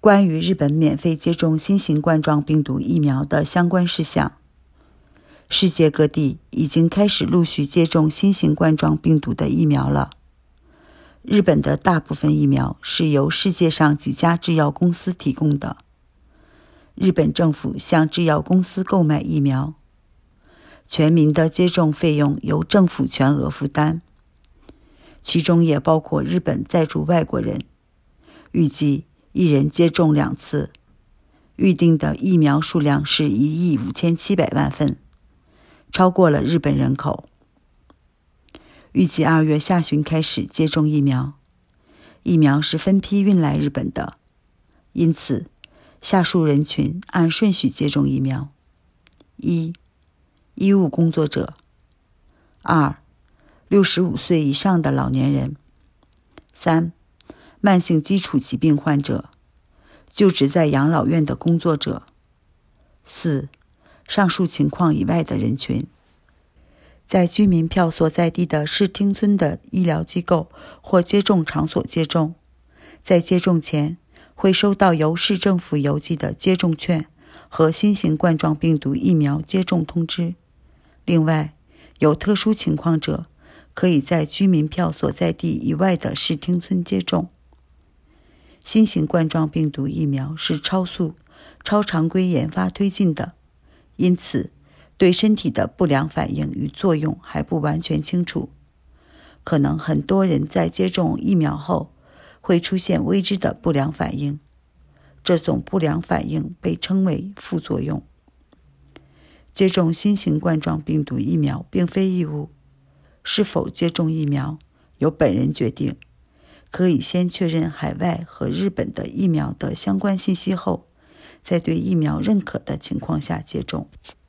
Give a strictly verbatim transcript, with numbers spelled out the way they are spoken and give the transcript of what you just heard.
关于日本免费接种新型冠状病毒疫苗的相关事项。世界各地已经开始陆续接种新型冠状病毒的疫苗了。日本的大部分疫苗是由世界上几家制药公司提供的。日本政府向制药公司购买疫苗，全民的接种费用由政府全额负担，其中也包括日本在住外国人，预计一人接种两次，预定的疫苗数量是一亿五千七百万份，超过了日本人口。预计二月下旬开始接种疫苗，疫苗是分批运来日本的，因此下述人群按顺序接种疫苗：一、医务工作者；二、六十五岁以上的老年人；三、慢性基础疾病患者，就职在养老院的工作者；四、上述情况以外的人群。在居民票所在地的市町村的医疗机构或接种场所接种，在接种前会收到由市政府邮寄的接种券和新型冠状病毒疫苗接种通知。另外，有特殊情况者可以在居民票所在地以外的市町村接种。新型冠状病毒疫苗是超速、超常规研发推进的，因此对身体的不良反应与作用还不完全清楚。可能很多人在接种疫苗后会出现未知的不良反应，这种不良反应被称为副作用。接种新型冠状病毒疫苗并非义务，是否接种疫苗由本人决定，可以先确认海外和日本的疫苗的相关信息后，在对疫苗认可的情况下接种。